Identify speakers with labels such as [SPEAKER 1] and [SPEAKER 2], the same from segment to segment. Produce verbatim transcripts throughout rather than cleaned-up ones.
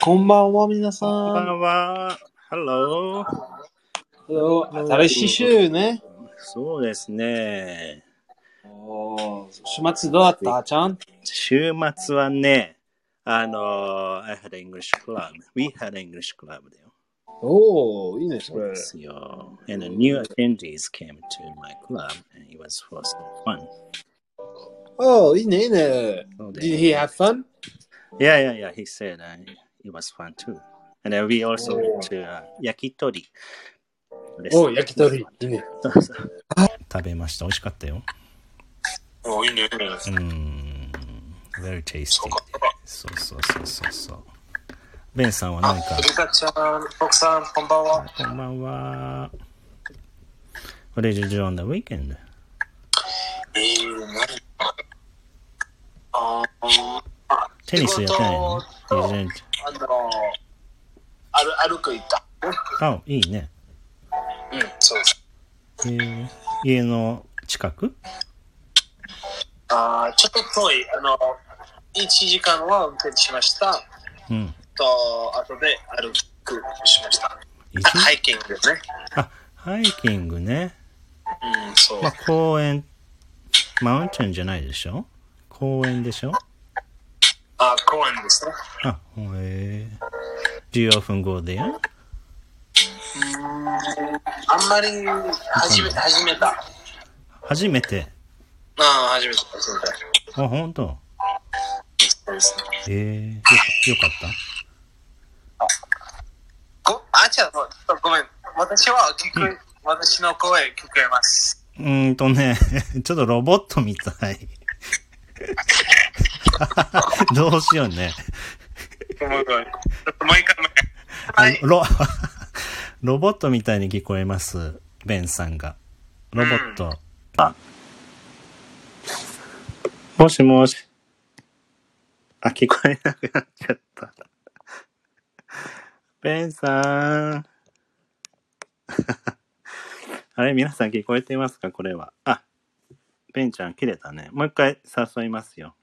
[SPEAKER 1] こんばんは、皆さん。
[SPEAKER 2] こんばんは。Hello。
[SPEAKER 1] Hello。新しい週ね。
[SPEAKER 2] そうですね。
[SPEAKER 1] おー、週末どうだったちゃん？
[SPEAKER 2] 週末はね、あの、I had an English club. We had an English club だよ。
[SPEAKER 1] おー、いいね、それ。
[SPEAKER 2] そうですよ。And new attendees came to my club and it was so fun.
[SPEAKER 1] おー、いいね、いいね。Did he have fun?
[SPEAKER 2] Yeah, yeah, yeah. He said uh, it was fun too. And then we also went to uh, 焼き鳥。
[SPEAKER 1] おー、焼き鳥。いいね。
[SPEAKER 2] 食べました。美味しかったよ。
[SPEAKER 1] おー、いいね。
[SPEAKER 2] うん。Very tasty. そうそうそうそうそう。ベンさんは何か。
[SPEAKER 1] リカちゃん、奥さん、こんばんは。
[SPEAKER 2] こんばんは。What did you do on the weekend?
[SPEAKER 1] えー、何あー、
[SPEAKER 2] テニスやってないの？ You didn't?
[SPEAKER 1] あの、歩、歩く行った。
[SPEAKER 2] あ、いいね。
[SPEAKER 1] うん、そうです。
[SPEAKER 2] えー、家の近く？
[SPEAKER 1] あー、ちょっと遠い。あの、いちじかんは運転しました。
[SPEAKER 2] うん。
[SPEAKER 1] と、後で歩くしました。ハイキングね。
[SPEAKER 2] あ、ハイキングね。
[SPEAKER 1] うん、そう。
[SPEAKER 2] まあ、公園、マウンテンじゃないでしょ？公園でしょ？
[SPEAKER 1] あ、公園ですね。
[SPEAKER 2] あ、へえ。Do you often go there?
[SPEAKER 1] うん、あんまり、初め、初めた。
[SPEAKER 2] 初めて。
[SPEAKER 1] ああ、初めて、初めて。
[SPEAKER 2] あ、ほんと？
[SPEAKER 1] そうですね。
[SPEAKER 2] えー、よか、よかった？
[SPEAKER 1] ご、あ、違う、ごめん。私は聞く、うん、私の声聞こえます。
[SPEAKER 2] うーんとね、ちょっとロボットみたい。どうしようね。
[SPEAKER 1] ごめんごめん。もう一回もう一回。はい。
[SPEAKER 2] ロ、ロボットみたいに聞こえます。ベンさんが。ロボット。うん、あ。もしもし。あ、聞こえなくなっちゃった。ベンさん。あれ、皆さん聞こえていますかこれは。あ、ベンちゃん切れたね。もう一回誘いますよ。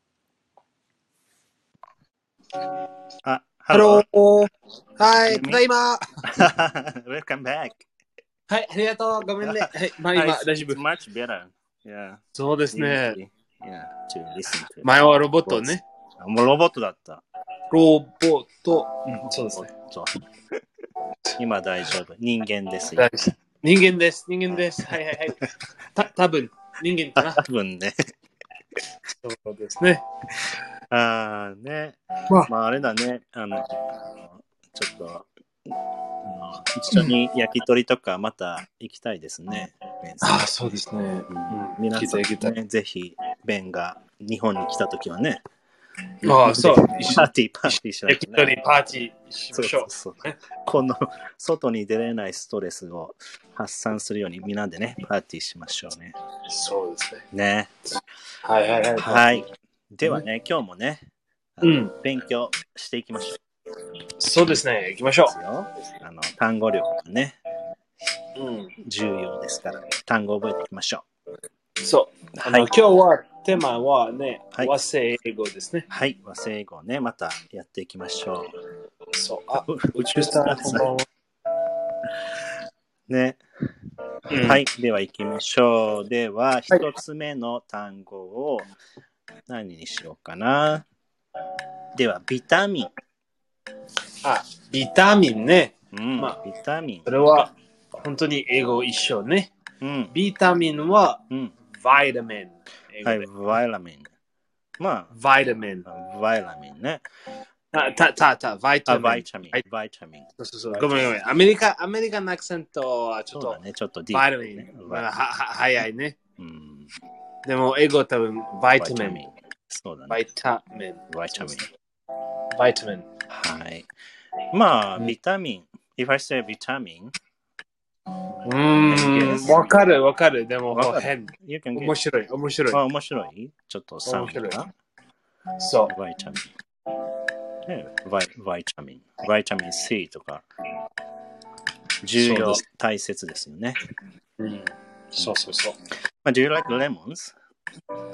[SPEAKER 2] あ、ハロー。
[SPEAKER 1] はい、ただいま。
[SPEAKER 2] Welcome back.
[SPEAKER 1] はい、ありがとう。ごめんね。はい、まあ今、大丈夫。
[SPEAKER 2] Much better. Yeah.
[SPEAKER 1] そうですね。
[SPEAKER 2] Yeah, to listen to.
[SPEAKER 1] 前はロボットね。
[SPEAKER 2] もうロボットだった。
[SPEAKER 1] ロボット。うん、そうですね。
[SPEAKER 2] そう。今大丈夫。人間です
[SPEAKER 1] よ。人間です。人間です。はいはいはい。た、多分人間かな。
[SPEAKER 2] 多分ね。
[SPEAKER 1] そうですね。
[SPEAKER 2] ああね。まあ、まあ、あれだね。あの、ちょっと、一緒に焼き鳥とかまた行きたいですね。
[SPEAKER 1] ああ、そうですね。うん、
[SPEAKER 2] 皆さんね、ぜひ、ベンが日本に来たときはね。
[SPEAKER 1] ああ、そう。
[SPEAKER 2] パーティー、パーティーしましょう、ね。
[SPEAKER 1] 焼き鳥パーティーしましょう。
[SPEAKER 2] そうそうそう。この外に出れないストレスを発散するようにみんなでね、パーティーしましょうね。
[SPEAKER 1] そうですね。
[SPEAKER 2] ね。
[SPEAKER 1] はいはいはい。
[SPEAKER 2] はい。ではね、今日もね、
[SPEAKER 1] うん、
[SPEAKER 2] 勉強していきましょう。
[SPEAKER 1] そうですね。行きましょう。
[SPEAKER 2] あの単語力がね、
[SPEAKER 1] うん、
[SPEAKER 2] 重要ですから、単語を覚えていきましょ
[SPEAKER 1] う。そう。はい、今日はテーマはね、はい、和製英語ですね。
[SPEAKER 2] はい、和製英語をね、またやっていきましょ
[SPEAKER 1] う。そう。あ、宇宙スターこんばんは。
[SPEAKER 2] ね、うん。はい、では行きましょう。では、一つ目の単語を何にしようかな。では、ビタミン。
[SPEAKER 1] あ、ビタミンね。
[SPEAKER 2] うん、まあ、ビタミン。
[SPEAKER 1] それは本当に英語一緒ね。うん、ビタミンは、うん、バイタミン。
[SPEAKER 2] はい、バイタミン。まあ、
[SPEAKER 1] バイタミン。
[SPEAKER 2] バイタミンね。
[SPEAKER 1] た、た、た、た、バイタミン。
[SPEAKER 2] バイタミン。バイタミン。
[SPEAKER 1] そうそうそう。ごめんごめん。アメリカ、アメリカのアクセントはちょっと、
[SPEAKER 2] ね、ちょっとディ
[SPEAKER 1] ープ、バイタミン。
[SPEAKER 2] ね、
[SPEAKER 1] は、は、早いね。
[SPEAKER 2] うん。
[SPEAKER 1] でも、英語多分、バイタミン。
[SPEAKER 2] そうだね。
[SPEAKER 1] バイタミン。
[SPEAKER 2] バイタミン。
[SPEAKER 1] バイタミン。
[SPEAKER 2] はい。まあ、ビタミン。If I say ビタミン。
[SPEAKER 1] うーん、わかるわかる。でも、変。面白い、面白い。
[SPEAKER 2] あ、面白いちょっとサウンドが。
[SPEAKER 1] そう。
[SPEAKER 2] バイタミン。バイ、バイタミン。バイタミン C とか。重要、大切ですよね。
[SPEAKER 1] うん。そうそうそう。
[SPEAKER 2] まあ、Do you like lemons?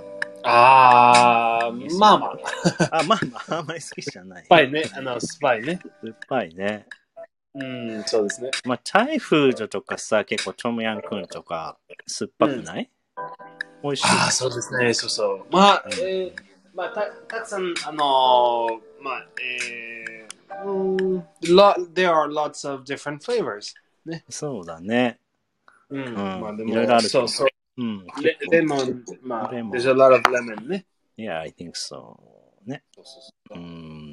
[SPEAKER 3] あー、まあまあ。
[SPEAKER 2] あ、まあまあ、あんまり好きじゃない。
[SPEAKER 3] スパイね。あの、スパイね。
[SPEAKER 2] 酸っぱいね。
[SPEAKER 3] うん、そうですね。
[SPEAKER 2] まあ、チャイフージョとかさ、結構トムヤンクンとか酸っぱくない、うん、美味しい。
[SPEAKER 3] ああ、そうですね。そうそう。まあ、えー、まあ、た、たくさん、あのー、まあ、えー、うん、lot, there are lots of different flavors. ね。
[SPEAKER 2] そうだね。
[SPEAKER 3] うん。うん、まあ、でも、
[SPEAKER 2] いろいろあるけど。
[SPEAKER 3] そうそう。
[SPEAKER 2] うん、
[SPEAKER 3] レレモン、まあ、
[SPEAKER 2] レモン
[SPEAKER 3] there's a lot of lemon ね。
[SPEAKER 2] Yeah, I think so. ね。うん、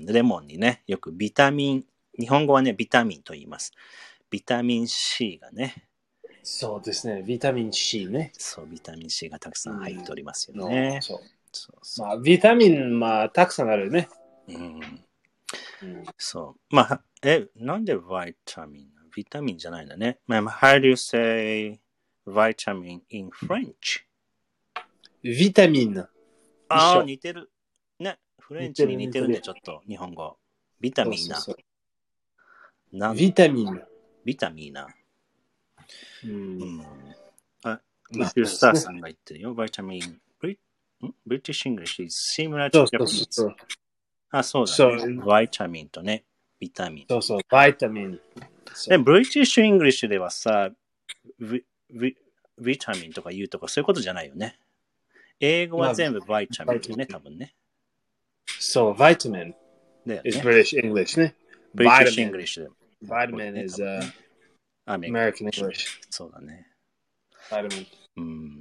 [SPEAKER 2] レモンにね、よくビタミン、日本語はね、ビタミンと言います。ビタミン C がね。
[SPEAKER 3] そうですね。ビタミン C ね。
[SPEAKER 2] そう、ビタミン C がたくさん入っておりますよね。
[SPEAKER 3] うん、そう。
[SPEAKER 2] そうそう。
[SPEAKER 3] まあ、ビタミン、まあ、たくさんあるね。
[SPEAKER 2] うん。
[SPEAKER 3] うん、
[SPEAKER 2] そう。まあ、え、なんでビタミンビタミンじゃないんだね。まあ、how do you say vitamin in French?
[SPEAKER 3] ビタミン。
[SPEAKER 2] ああ、似てる。ね。フレンチに似てるね、ちょっと、日本語。ビタミンな。
[SPEAKER 3] そうそうそうビタミン。
[SPEAKER 2] ビタミンな。
[SPEAKER 3] うん。うん、
[SPEAKER 2] あ、ミススターさんが言ってるよ。ビタミン。British English is similar to Japanese.
[SPEAKER 3] そうそうそう。
[SPEAKER 2] あ、そうだね。ビタミンとね、ビタミン。
[SPEAKER 3] そうそう、ビタミン。
[SPEAKER 2] で、British English ではさ、ビ、ビ、ビタミンとか言うとかそういうことじゃないよね。英語は全部ビタミンよね、多分ね。
[SPEAKER 3] そう、ビタミン。
[SPEAKER 2] だよね。
[SPEAKER 3] is British English ね。
[SPEAKER 2] British English で。
[SPEAKER 3] Vitamin is、uh, American English。
[SPEAKER 2] そうだね。
[SPEAKER 3] Vitamin。
[SPEAKER 2] うん、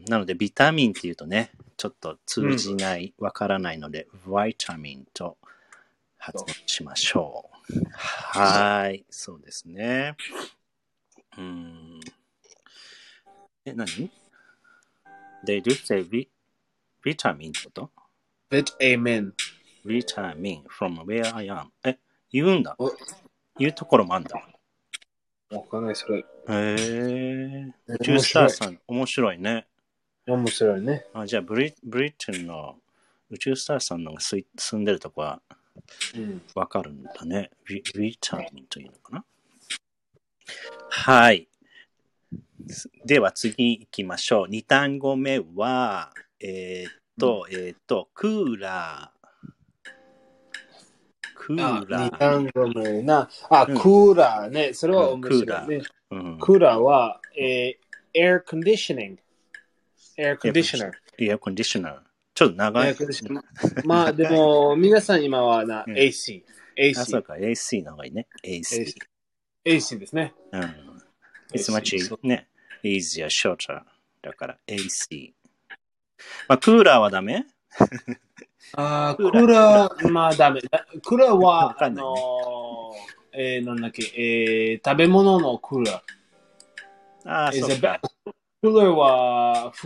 [SPEAKER 2] なので、ビタミンっていうとね、ちょっと通じないわ、うん、からないので、ビタミンと発音しましょう。はい、そうですね。うん、え、何 ?They do say ビ、ビタミンってこと
[SPEAKER 3] Vitamin。
[SPEAKER 2] ビタミン from where I am. え、言うんだ。言うところもあんだ。
[SPEAKER 3] わかんない、それ。
[SPEAKER 2] へえ。宇宙スターさん、面白いね。
[SPEAKER 3] 面白いね。
[SPEAKER 2] あ、じゃあブリ、ブリテンの宇宙スターさんのが住んでるとこはわかるんだね。うん、ビ, ビタミンというのかな。はい。では次行きましょう。に単語目は、えー、っと、うん、えー、っと、クーラー。クーラー。
[SPEAKER 3] に単語目な。あ、うん、クーラーね。それは面白いね。クーラー、うん、クーラーは、えー、air conditioning。エアコンディショナー。
[SPEAKER 2] エアコンディショナー。ちょっと長い。
[SPEAKER 3] まあでも、皆さん今はな、うん、エーシー。エーシー。
[SPEAKER 2] あ、そうか、エーシー の方がいいね。エーシー。
[SPEAKER 3] エーシー ですね。
[SPEAKER 2] うん。It's much ね、easier, shorter. だから エーシー。まあ、クーラーはダメ
[SPEAKER 3] あクーラー、まあダメ。クーラーは、ね、あのー、えー、なんだっけ、えー、食べ物のクーラー。
[SPEAKER 2] ああ、そうか。
[SPEAKER 3] クーラーは、